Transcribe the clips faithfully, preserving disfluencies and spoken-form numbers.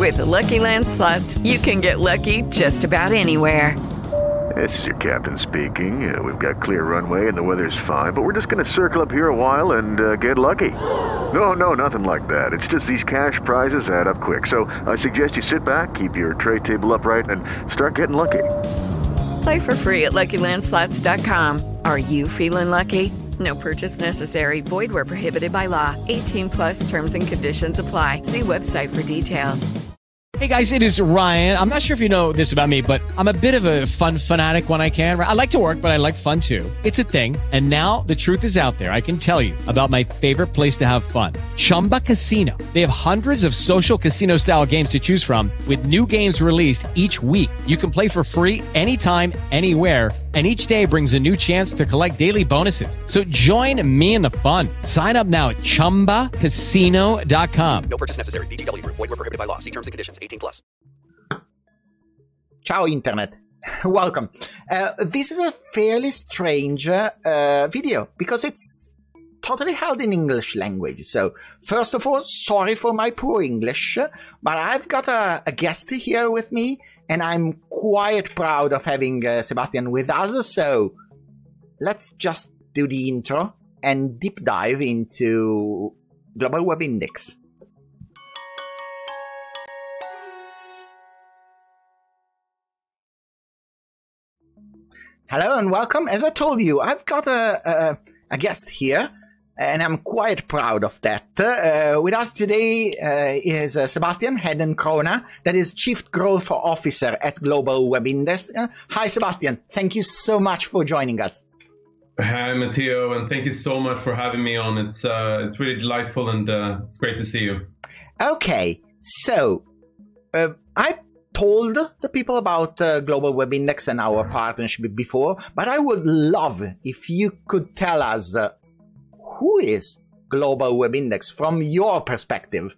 With Lucky Land Slots, you can get lucky just about anywhere. This is your captain speaking. Uh, we've got clear runway and the weather's fine, but we're just going to circle up here a while and uh, get lucky. No, no, nothing like that. It's just these cash prizes add up quick. So I suggest you sit back, keep your tray table upright, and start getting lucky. Play for free at Lucky Land Slots dot com. Are you feeling lucky? No purchase necessary. Void where prohibited by law. eighteen plus terms and conditions apply. See website for details. Hey guys, it is Ryan. I'm not sure if you know this about me, but I'm a bit of a fun fanatic when I can. I like to work, but I like fun too. It's a thing. And now the truth is out there. I can tell you about my favorite place to have fun. Chumba Casino. They have hundreds of social casino style games to choose from with new games released each week. You can play for free anytime, anywhere. And each day brings a new chance to collect daily bonuses. So join me in the fun. Sign up now at chumba casino dot com. No purchase necessary. V G W. Void where prohibited by law. See terms and conditions. eighteen plus. Ciao Internet. Welcome. Uh, this is a fairly strange uh, video because it's totally held in English language. So first of all, sorry for my poor English, but I've got a, a guest here with me. And I'm quite proud of having uh, Sebastian with us, so let's just do the intro and deep dive into Global Web Index. Hello and welcome. As I told you, I've got a, a, a guest here, and I'm quite proud of that. Uh, with us today uh, is uh, Sebastian Hedden-Kroner, that is Chief Growth Officer at Global Web Index. Uh, hi, Sebastian. Thank you so much for joining us. Hi, Matteo, and thank you so much for having me on. It's uh, it's really delightful, and uh, it's great to see you. Okay, so uh, I told the people about uh, Global Web Index and our partnership before, but I would love if you could tell us uh, who is Global Web Index from your perspective?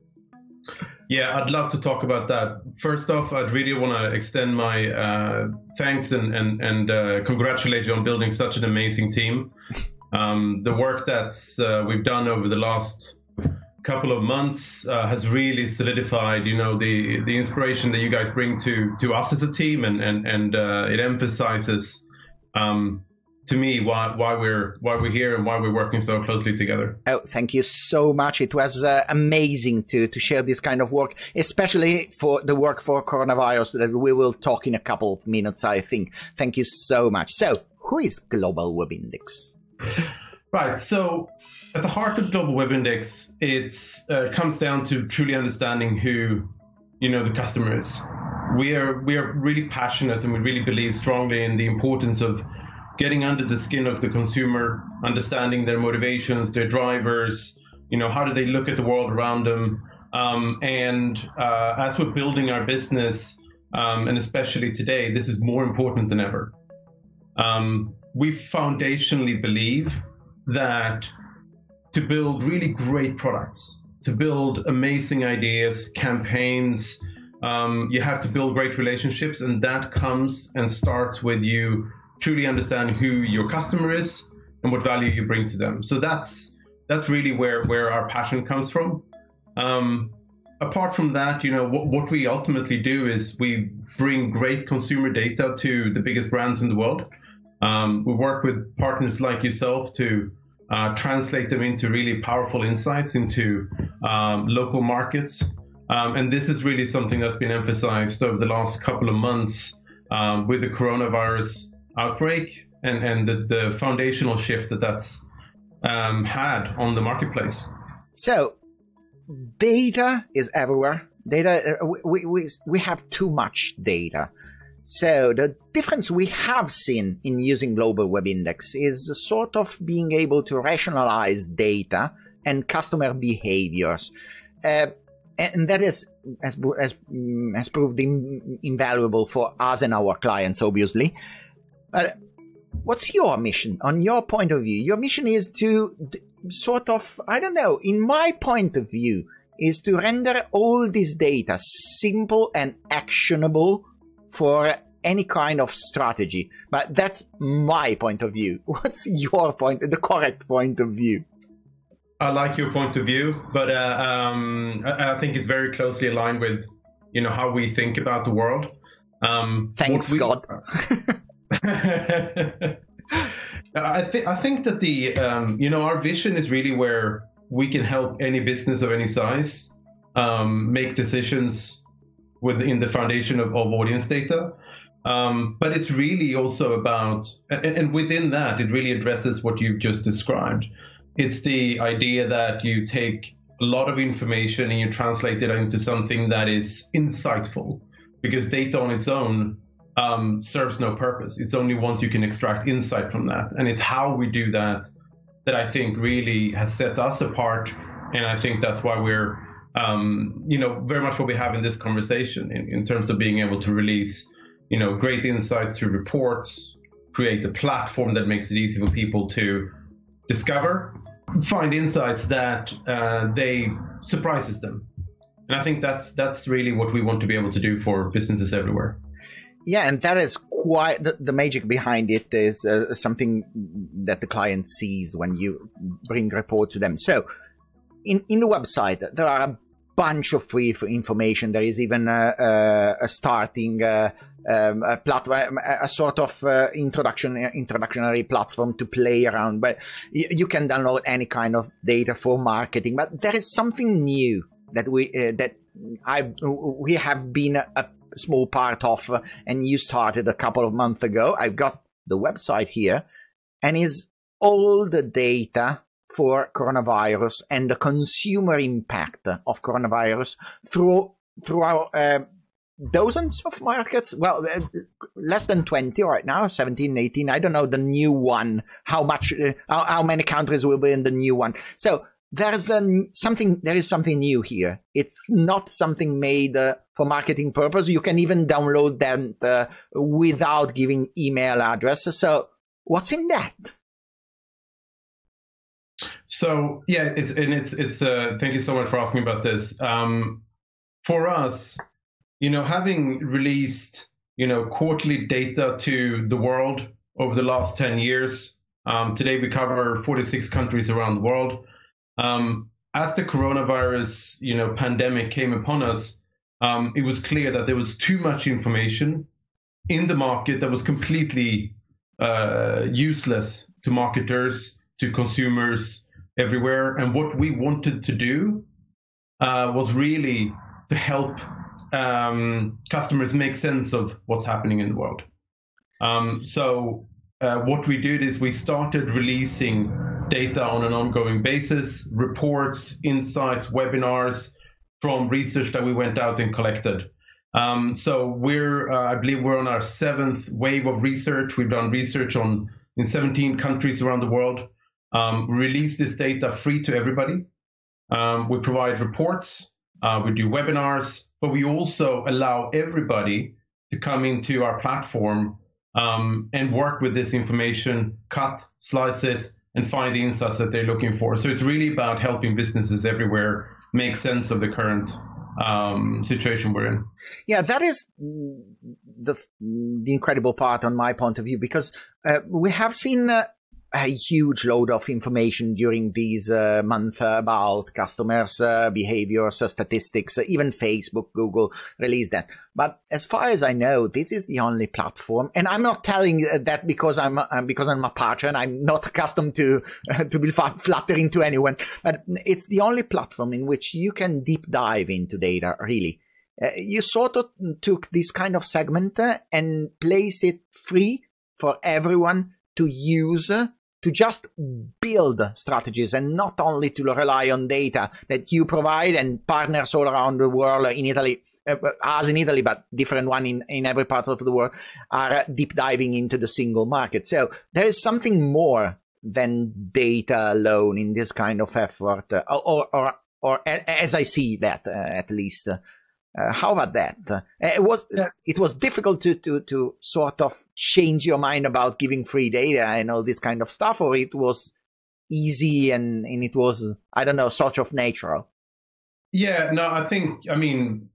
Yeah, I'd love to talk about that. First off, I'd really want to extend my uh, thanks and and, and uh, congratulate you on building such an amazing team. Um, the work that uh, we've done over the last couple of months uh, has really solidified, you know, the the inspiration that you guys bring to to us as a team, and and and uh, it emphasizes. Um, to me, why why we're why we're here and why we're working so closely together. Oh, thank you so much. It was uh, amazing to to share this kind of work, especially for the work for coronavirus that we will talk in a couple of minutes, I think. Thank you so much. So, who is Global Web Index? Right. So, at the heart of Global Web Index, it's uh, comes down to truly understanding who, you know, the customer is. We are we are really passionate, and we really believe strongly in the importance of getting under the skin of the consumer, understanding their motivations, their drivers, you know, how do they look at the world around them? Um, and uh, as we're building our business, um, and especially today, this is more important than ever. Um, we foundationally believe that to build really great products, to build amazing ideas, campaigns, um, you have to build great relationships, and that comes and starts with you truly understand who your customer is and what value you bring to them. So that's that's really where where our passion comes from. Um, apart from that, you know, what, what we ultimately do is we bring great consumer data to the biggest brands in the world. Um, we work with partners like yourself to uh, translate them into really powerful insights into um, local markets. Um, and this is really something that's been emphasized over the last couple of months um, with the coronavirus outbreak and, and the, the foundational shift that that's um, had on the marketplace. So, data is everywhere. Data, uh, we, we, we have too much data. So, the difference we have seen in using Global Web Index is sort of being able to rationalize data and customer behaviors. Uh, and that is, has, has, has proved in, invaluable for us and our clients, obviously. Uh, what's your mission, on your point of view? Your mission is to d- sort of, I don't know, in my point of view, is to render all this data simple and actionable for any kind of strategy. But that's my point of view. What's your point, the correct point of view? I like your point of view, but uh, um, I, I think it's very closely aligned with you know, how we think about the world. Um, Thanks we, God. I think I think that the um, you know, our vision is really where we can help any business of any size um, make decisions within the foundation of, of audience data. Um, but it's really also about, and, and within that, it really addresses what you've just described. It's the idea that you take a lot of information and you translate it into something that is insightful, because data on its own um, serves no purpose. It's only once you can extract insight from that. And it's how we do that that I think really has set us apart. And I think that's why we're, um, you know, very much what we have in this conversation in, in terms of being able to release, you know, great insights through reports, create a platform that makes it easy for people to discover, find insights that uh, they surprises them. And I think that's that's really what we want to be able to do for businesses everywhere. Yeah, and that is quite the, the magic behind it is uh, something that the client sees when you bring report to them. So in, in the website, there are a bunch of free information. There is even a, a, a starting uh, um, a platform, a sort of uh, introduction, introductory platform to play around. But you, you can download any kind of data for marketing. But there is something new that we uh, that I we have been a, a small part of, uh, and you started a couple of months ago. I've got the website here, and is all the data for coronavirus and the consumer impact of coronavirus through through our uh, dozens of markets. Well, uh, less than twenty right now, seventeen, eighteen. I don't know the new one, how much, uh, how, how many countries will be in the new one. So there's a, something, there is something new here. It's not something made uh, for marketing purpose. You can even download them uh, without giving email address. So what's in that? So yeah, it's and it's it's. Uh, thank you so much for asking about this. Um, for us, you know, having released you know quarterly data to the world over the last ten years, um, today we cover forty-six countries around the world. Um, as the coronavirus, you know, pandemic came upon us, um, it was clear that there was too much information in the market that was completely uh, useless to marketers, to consumers everywhere. And what we wanted to do uh, was really to help um, customers make sense of what's happening in the world. Um, so uh, what we did is we started releasing data on an ongoing basis, reports, insights, webinars from research that we went out and collected. Um, so we're, uh, I believe we're on our seventh wave of research. We've done research on in seventeen countries around the world. Um, we release this data free to everybody. Um, we provide reports, uh, we do webinars, but we also allow everybody to come into our platform um, and work with this information, cut, slice it, and find the insights that they're looking for. So it's really about helping businesses everywhere make sense of the current um, situation we're in. Yeah, that is the the incredible part on my point of view, because uh, we have seen uh, a huge load of information during these uh, months about customers' uh, behaviors, uh, statistics, uh, even Facebook, Google released that. But as far as I know, this is the only platform, and I'm not telling that because I'm uh, because I'm a partner and I'm not accustomed to uh, to be flattering to anyone. But it's the only platform in which you can deep dive into data. Really, uh, you sort of took this kind of segment uh, and place it free for everyone to use. Uh, to just build strategies and not only to rely on data that you provide and partners all around the world in Italy, uh, as in Italy, but different one in, in every part of the world, are deep diving into the single market. So there is something more than data alone in this kind of effort, uh, or, or, or as I see that, uh, at least. Uh, Uh, how about that? Uh, it was yeah. it was difficult to, to to sort of change your mind about giving free data and all this kind of stuff, or it was easy and, and it was, I don't know, sort of natural? Yeah, no, I think, I mean,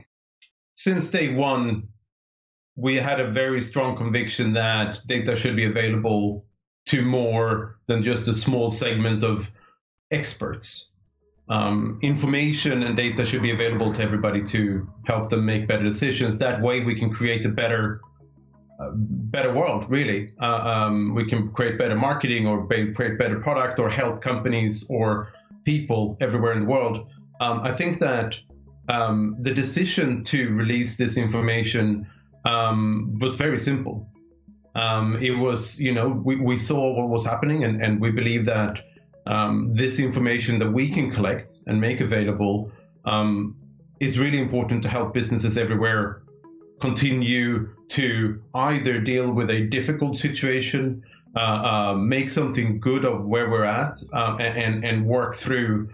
since day one, we had a very strong conviction that data should be available to more than just a small segment of experts. um, information and data should be available to everybody to help them make better decisions. That way we can create a better uh, better world, really. Uh, um, we can create better marketing or be, create better product or help companies or people everywhere in the world. Um, I think that um, the decision to release this information um, was very simple. Um, it was, you know, we, we saw what was happening, and, and we believe that um, this information that we can collect and make available um, is really important to help businesses everywhere continue to either deal with a difficult situation, uh, uh, make something good of where we're at, uh, and, and work through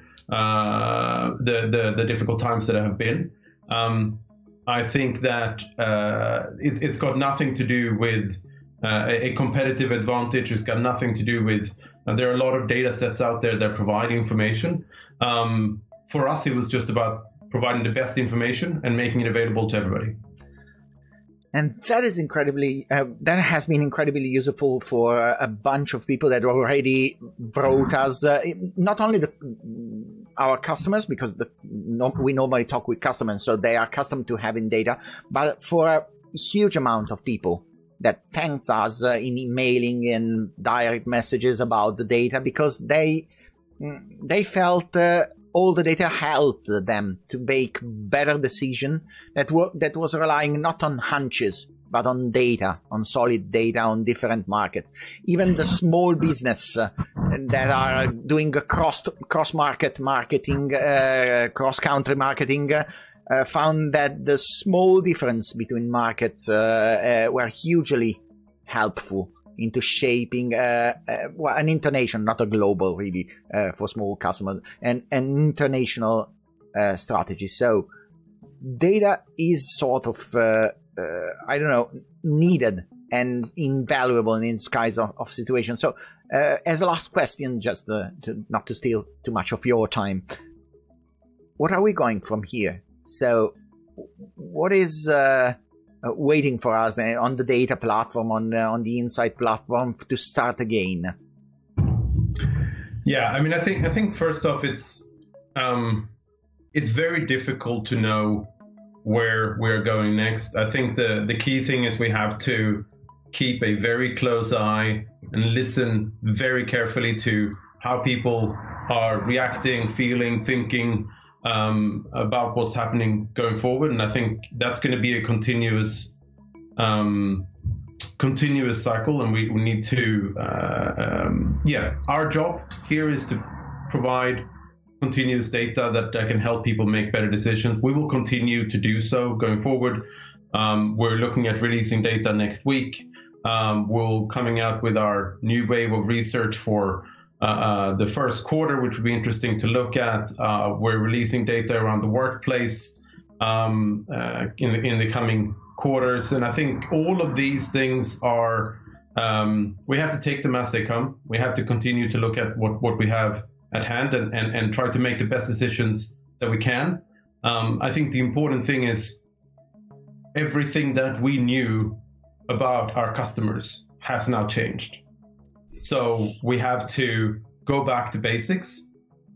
uh, the, the, the difficult times that have been. Um, I think that uh, it, it's got nothing to do with uh, a competitive advantage. It's got nothing to do with, uh, there are a lot of data sets out there that provide information. Um, for us, it was just about providing the best information and making it available to everybody. And that is incredibly, uh, that has been incredibly useful for a bunch of people that already wrote us, uh, not only the, our customers, because the, no, we normally talk with customers, so they are accustomed to having data, but for a huge amount of people that thanks us uh, in emailing and direct messages about the data, because they, they felt uh, all the data helped them to make better decision that, w- that was relying not on hunches, but on data, on solid data on different markets. Even the small business uh, that are doing a cross, cross-market marketing, uh, cross-country marketing, uh, uh, found that the small difference between markets uh, uh, were hugely helpful into shaping uh, uh, well, an international, not a global, really, uh, for small customers, and an international uh, strategy. So data is sort of, uh, uh, I don't know, needed and invaluable in this kind of, of situation. So uh, as a last question, just uh, to, not to steal too much of your time, what are we going from here? So what is... Uh, Uh, waiting for us uh, on the data platform, on uh, on the Insight platform to start again? Yeah, I mean, I think I think first off, it's um, it's very difficult to know where we're going next. I think the the key thing is we have to keep a very close eye and listen very carefully to how people are reacting, feeling, thinking Um, about what's happening going forward, and I think that's going to be a continuous, um, continuous cycle, and we, we need to, uh, um, yeah, our job here is to provide continuous data that, that can help people make better decisions. We will continue to do so going forward. Um, we're looking at releasing data next week. Um, we're coming out with our new wave of research for Uh, uh, the first quarter, which would be interesting to look at. Uh, we're releasing data around the workplace um, uh, in, the, in the coming quarters. And I think all of these things are, um, we have to take them as they come. We have to continue to look at what, what we have at hand and, and, and try to make the best decisions that we can. Um, I think the important thing is everything that we knew about our customers has now changed. So we have to go back to basics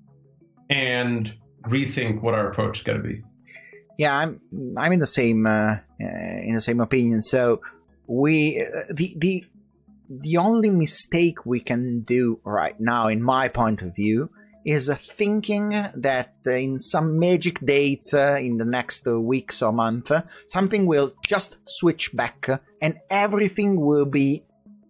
and rethink what our approach is going to be. Yeah, I'm I'm in the same uh, uh, in the same opinion. So we uh, the the the only mistake we can do right now, in my point of view, is uh, thinking that uh, in some magic dates uh, in the next uh, weeks or month, uh, something will just switch back uh, and everything will be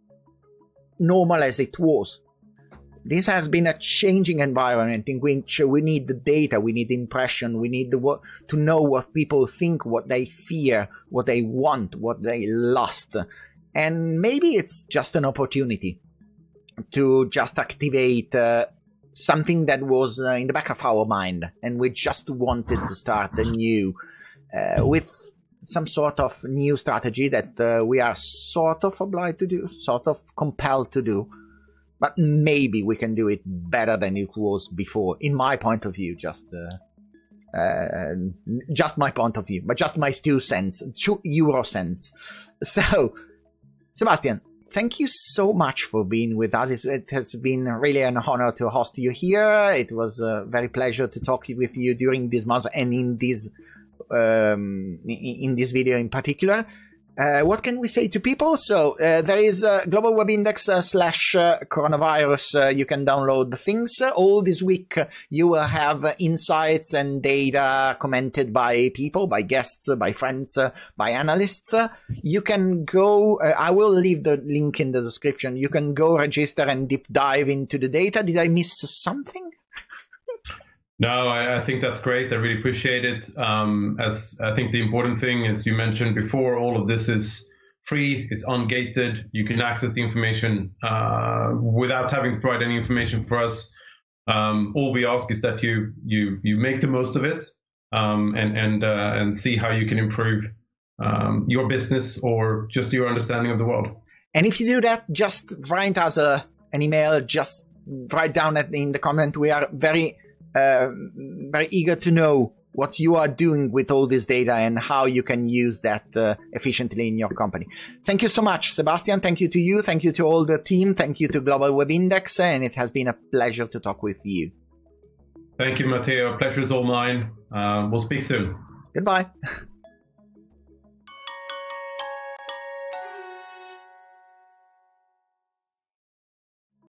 normal as it was. This has been a changing environment in which we need the data, we need impression, we need the, to know what people think, what they fear, what they want, what they lust. And maybe it's just an opportunity to just activate uh, something that was uh, in the back of our mind, and we just wanted to start anew uh, with some sort of new strategy that uh, we are sort of obliged to do, sort of compelled to do, but maybe we can do it better than it was before, in my point of view, just uh, uh, just my point of view, but just my two cents, two euro cents. So, Sebastian, thank you so much for being with us. It has been really an honor to host you here. It was a very pleasure to talk with you during this month and in this um, in this video in particular. Uh, what can we say to people? So uh, there is uh, Global Web Index uh, slash uh, coronavirus. Uh, you can download the things. Uh, all this week uh, you will have uh, insights and data commented by people, by guests, uh, by friends, uh, by analysts. Uh, you can go, uh, I will leave the link in the description. You can go register and deep dive into the data. Did I miss something? No, I, I think that's great. I really appreciate it. Um, as I think the important thing, as you mentioned before, all of this is free. It's ungated. You can access the information uh, without having to provide any information for us. Um, all we ask is that you you you make the most of it um, and and uh, and see how you can improve um, your business or just your understanding of the world. And if you do that, just write us a, an email. Just write down at, in the comment. We are very Uh, very eager to know what you are doing with all this data and how you can use that uh, efficiently in your company. Thank you so much, Sebastian. Thank you to you. Thank you to all the team. Thank you to Global Web Index. And it has been a pleasure to talk with you. Thank you, Matteo. Pleasure is all mine. Uh, we'll speak soon. Goodbye.